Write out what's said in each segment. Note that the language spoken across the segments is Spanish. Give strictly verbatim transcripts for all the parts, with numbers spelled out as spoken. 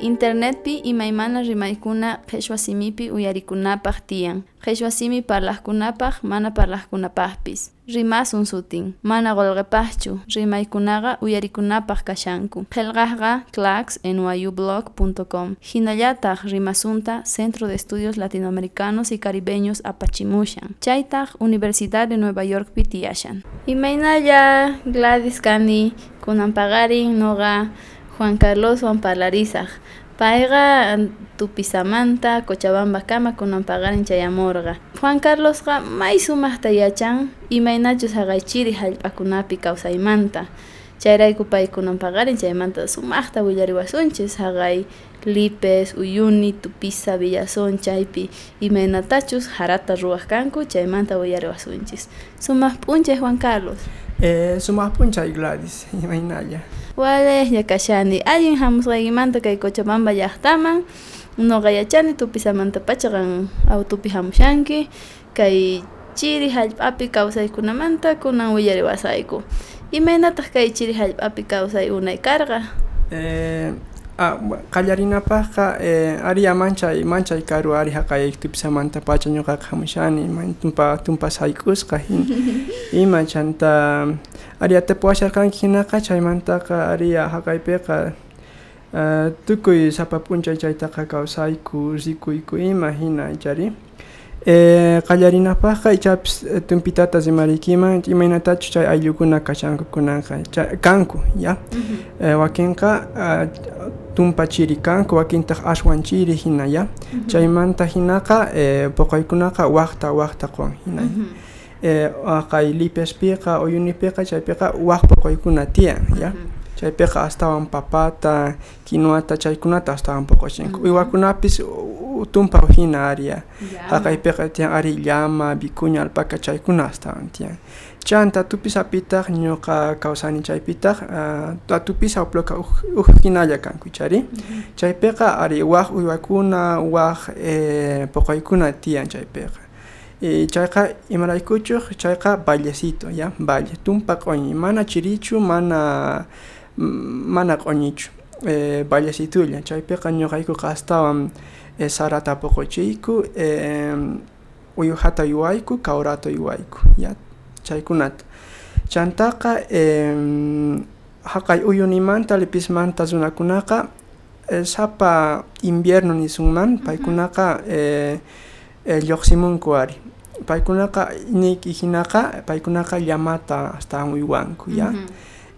Internetpi imaymana rimaykuna qhichwa simipi uyarikunapaq tiyan. Qhichwa simi parlaqkunapaq mana parlaqkunapaqpis. Rimasun sutin, mana qolqipaqchu, rimaykunaqa uyarikunapaq kashanku. Qillqaqqa clax n y u blog punto com. Hinallataq rimasunta Centro de Estudios Latinoamericanos y Caribeños apachimushan. Chaytaq Universidad de Nueva York pi tiyashan. Imaynalla Gladys kani kunan paqarin noqa Juan Carlos Juan Parlarizaq. Payqa Tupisamanta Cochabamba kama kunan paqarin chayamurqa. Juan Carlosqa may sumaqta yachan imaynachus haqaychiri hallp'akunapi kawsaymanta. Chayrayku pay kunan paqarin chaymanta sumaqta willariwasunchis haqay Lipes, Uyuni, Tupisa, Villazón, chaypi imaynatachus harata ruwaq kanku chaymanta willariwasunchis. Sumaq p'unchay Juan Carlos. Eh, sumaq p'unchay Gladys, imaynalla. Wale yakashani allin hamusqaykimanta kay Cochabamba llaqtaman noqa yachani Tupisamanta pachaqan autopi hamushanki kay chiri hallp'api kawsaykunamanta kunan willariwasayku. Imaynataq kay chiri hallp'api kawsay unay karqa? Eh, ah, qallarinapaqqa eh, ari manchay manchay karu ari haqay Tupisamanta pacha ñuqaqa hamushani tumpa tumpa sayk'usqa hin ima chanta ari atapuwasharqanki hinaqa chaymantaqa ari haqaypiqa uh, tukuy sapa p'unchay chaytaqa kawsayku rikuyku ima hina chari eh, qallarinapaqqa ichapis tumpitata rimariykiman imaynatachu chay ayllukuna kashanku kunanqa kanku ya uh-huh. eh, wakinqa uh, tumpa chiri kanku wakintaq ashwan chiri hina ya uh-huh. chaymanta hinaqa eh, puqaykunaqa waqta waqta qwan hina uh-huh. eh, kay Lipespiqa Uyunipiqa chaypiqa waq puqaykuna tiyan ya uh-huh. chaypiqa astawan papata kinuata chaykunata astawan puqachinku uh-huh. uywakunapis tumpa hina aria haqaypiqa tiyan ari llama vicuña alpaca chaykuna astawan tiyan chanta tupisapitaq ñuqa kawsani chaypitaq uh, tupisa uploqa uj hinalla kanku chari uh-huh. chaypiqa ari waq uywakuna waq eh, puqaykuna tiyan chaypiqa y chayqa imaraykuchuq chayqa vallecito ya valle tumpa q'oñi mana chirichu mana mana q'oñichu eh, vallecitulla chaypiqa ñuqaykuqa astawan eh, sarata puquchiyku eh, uyuhata yuwayku kawrata yuwayku ya chaykunata chantaqa eh, haqay uyunimanta lipismanta runakunaqa eh, sapa invierno nisunman paykunaqa eh, eh, lluqsimunku ari paykunaqa niki hinaqa paykunaqa llamata astawan uywanku ya uh-huh.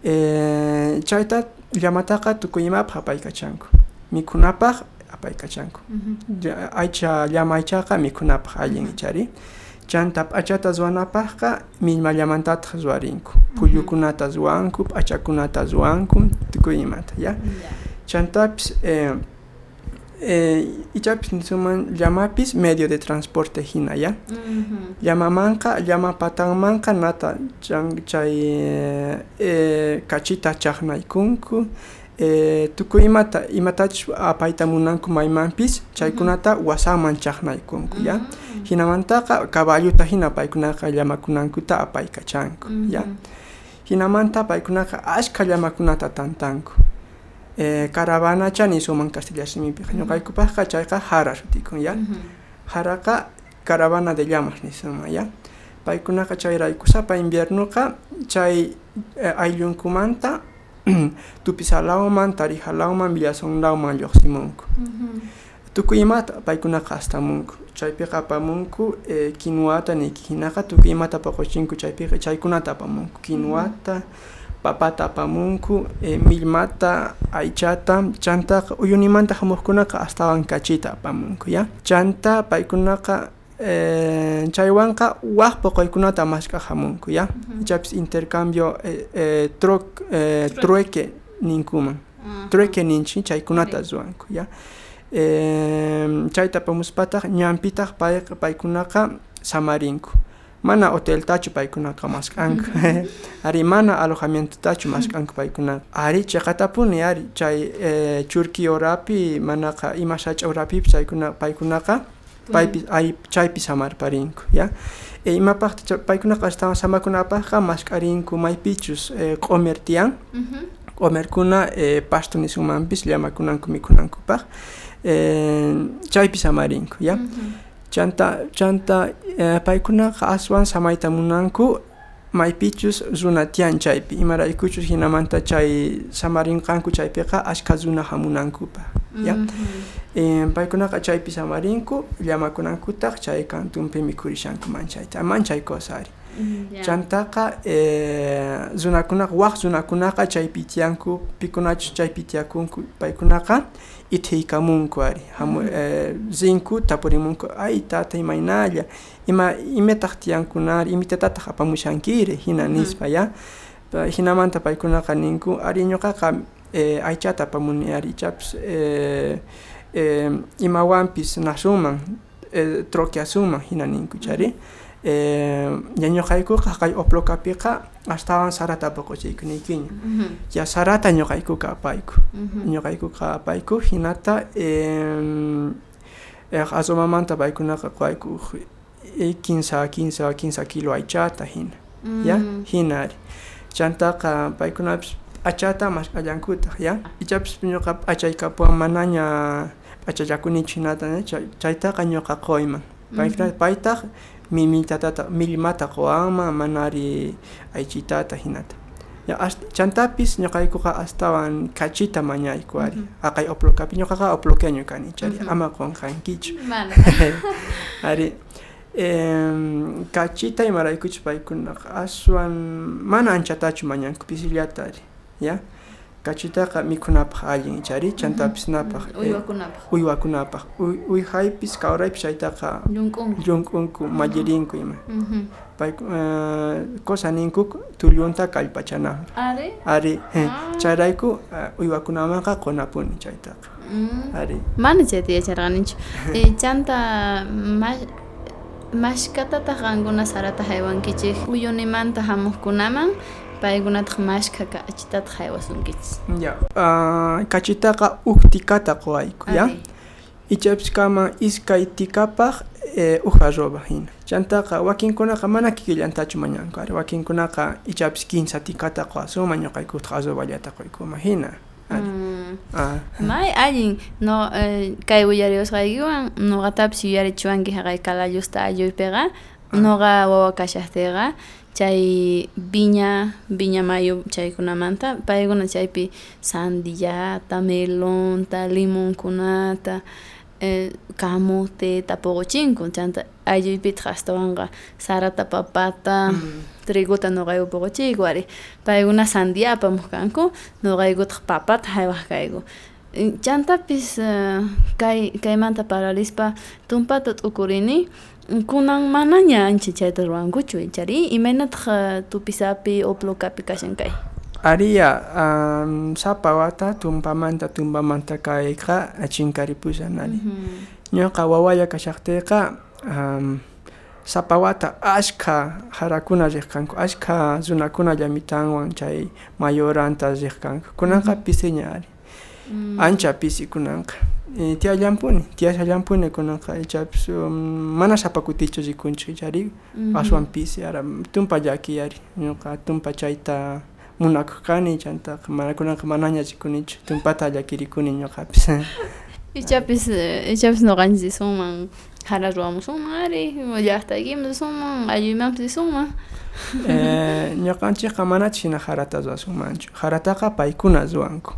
eh, chayta llamataqa tukuymapaq apaykachanku mikunapaq apaykachanku uh-huh. aycha llama aychaqa mikunapaq allin uh-huh. ichari chanta p'achata ruwanapaqqa millma llamantataq ruwarinku uh-huh. pullukunata ruwanku p'achakunata ruwanku tukuymata ya yeah. chantapis eh, eh, ichapis nisuman llamapis medio de transporte hina ya uh-huh. llamamanqa llama patanmanqa nata chan, chay eh, kachita chaqnaykunku eh, tukuymata imatach apayta munanku maymanpis chaykunata uh-huh. wasaman chaqnaykunku uh-huh. ya hinamantaqa caballuta hina paykunaqa llamakunankuta apaykachanku uh-huh. ya hinamanta paykunaqa ashka llamakunata tantanku eh, caravana chani suman Castilla simipi ñuqaykupaqqa chayqa hara sutikun ya uh-huh. haraqa caravana de llamas nisuma ya paykunaqa chayrayku sapa inviernoqa chay eh, ayllunkumanta Tupisalawman Tarijalawman Villazonlawman lluqsimunku uh-huh. tukuymata paykunaqa astamunku chaypiqa apamunku eh, kinuwata niki hinaqa tukuymata paquchinku chaypiqa chaykunata apamunku kinuwata uh-huh. papata apamunku eh, millmata aychata chantaqa uyunimanta hamuqkunaqa astawan kachita apamunku ya chanta paykunaqa eh, chaywanqa waq puquykunata masqa hamunku ya uh-huh. ichapis intercambio eh, eh, troc, eh, trueque ninkuman uh-huh. trueque ninchi chaykunata ruwanku ya eh, chayta apamuspataq ñampitaq pay, paykunaqa samarinku mana hotel tachu paykunaqa masqanku ari mana alojamiento tachu masqanku paykunaqa ari chaqatapuni ari chay eh, churki orapi manaqa ima sach'a orapi chaykuna paykunaqa paypi ay chaypi samarparinku ya e imapaqta paykunaqa astawan samakunapaqqa masqarinku maypichus eh, q'umer tiyan uh-huh. Omerkuna eh, pasto nisumanpis llamakunanku mikunankupaq eh, chaypis amarinku ya. Uh-huh. Chanta chanta eh, paykunaqa aswan samayta munanku maypichus runa tiyan chaypi imaraykuchus hinamanta chay samarinqanku chaypiqa ashka runa hamunankupa ya. Uh-huh. eh, paykunaqa chaypi samarinku llamakunankutaq chay kantunpi mikurishankuman chayta manchay kosari. Yeah. Chantaqa eh, runakunaqa waq runakunaqa chaypi tiyanku pikunachu chaypi tiyakunku paykunaqa ithiykamunku ari hamu eh, rinku tapurimunku ay tata imaynalla ima imetaq tiyankunari imitataq apamushankiri hina nispa ya hinamanta paykunaqa ninku ari ñuqaqa eh, aychata apamuni ari ichapas eh, eh, imawanpis nasuman eh, troquiasuman hina ninku chari. Eh, ñañoqaykuqa kay oplokapiqa astawan sarata apakuchaykunaykiña. Uh-huh. Ya sarata ñoqaykuqa apayku. Uh-huh. Ñoqaykuqa apayku hinata eh, eh, asomamanta paykunaqa qayku eh, quince quince quince kilo aychata hina. Uh-huh. Ya hinari. Chantaqa paykunapas achata mashqallankutaq ya. Ichapas ñoqa achaykapuwan manaña achallakunichu hinata chaytaqa ñoqa qoyman. Paykuna paytaq mimitata millimata qowanman manari aychitata hinata ya chantapis ñoqaykuqa astawan kachita mañayku ari aqay oplokapi ñoqaqa oplokeño kani chari ama qonqankichu ari em kachita imaraykuchus paykunaqa aswan mana anchatachu mañanku pisillata ari ya kachitaqa mikunapaq allin chari chantapis napaq uywakunapaq uywakunapaq uywaypis kawraypis chaytaqa llunk'unku mallirinku ima pay cosa ninku tullunta kallpachanaman ari ari chayrayku uywakunamanqa qunapuni chaytaqa ari mana chayta yacharqanichu chanta mashkatataq qankuna sarata haywankichik uyunimanta hamuqkunaman paykunataq mashka kachitataq haywasunkichis ya uh, kachitaqa uktikata qwayku ya ichapas kama iskay tikapaq eh, uja roba hina chantaqa wakinkunaqa mana kikillantachu mañanku ari wakinkunaqa ichapas quince tikata qwasuman ñoqaykutaq arroballata qoykuma hina ari mm. ah. May allin no eh, kay uyariwasqaykiwan nuqatapas yuyarichiwanki haqay kalallusta alluypiqa noqa wawa kashaqtiqa chay viña viña mayo chaykunamanta paykuna chaypi sandillata melonta limonkunata eh, kamuteta puquchinku chanta aylluypitaq astawanqa sarata papata mm. triguta nuqayku puquchiyku ari paykuna sandia apamuq kanku nuqaykutaq papata haywaq kayku chantapis uh, kay kaymanta paralispa tumpata t'ukurini kunan manaña ancha chayta ruwankuchu chari imaynataq tupisapi oplokapi kashan kay ariya um, sapa wata tumpamanta tumpamanta kayqa chinkaripushanari ñuqa wawaya kashaqtiyqa um, sapa wata ashka harakuna riq kanku ashka runakuna llamitanwan chay mayoranta riq kanku kunanqa pisiña ari Mm. ancha pisi kunanqa e, tiyallampuni tiyallampuni kunanqa ichapas um, mana sapakutichu rikunchik chari mm-hmm. aswan pisi ara tumpa llaki ari ñuqa tumpa chayta munakuq kani chantaqa mana kunanqa manaña rikunichu tumpata llakirikuni ñuqapis ichapis ichapis nuqanchis risunman hara ruwamusunman ari llaqtaykiman risunman alluymanpis risunman eh, ñuqanchikqa manachu hina harata ruwasunmanchu harataqa paykuna ruwanku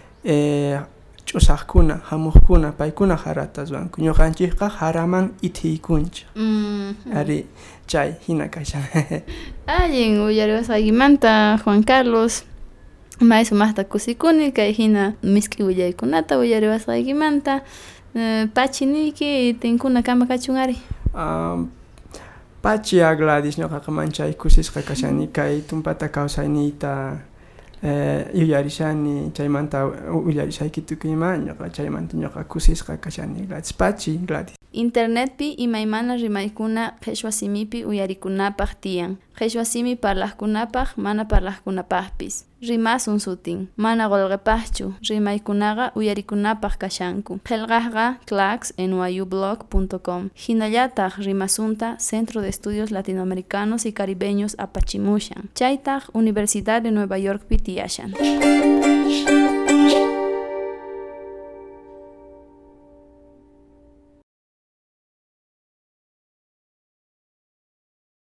eh ch'usaqkuna hamuqkuna paykuna harata ruwanku ñuqanchikqa haraman ithiykunchik mm. ari chay hina kashan allin uyariwasqaykimanta Juan Carlos may sumaqta kusikuni kay hina miski willaykunata uyariwasqaykimanta uh, pachiniki tinkuna kama kachun ari um, pachi a Gladys ñuqaqa manchay kusisqa kashani kay tumpata kawsayniyta eh yuyarishani chaymanta uyarishayki tukuyma ñuqa chaymanta ñuqa kusisqa kashani Gladys pachi Gladys internetpi imaymana rimaykuna qhichwa simipi uyarikunapaq tiyan qhichwa simi parlaqkunapaq mana parlaqkunapaqpis rimasun sutin mana qolqipaqchu rimaykunaqa uyarikunapaq kashanku qillqaqqa clax n y u blog punto com hinallataq rimasunta Centro de Estudios Latinoamericanos y Caribeños apachimushan chaytaq Universidad de Nueva York pi tiyashan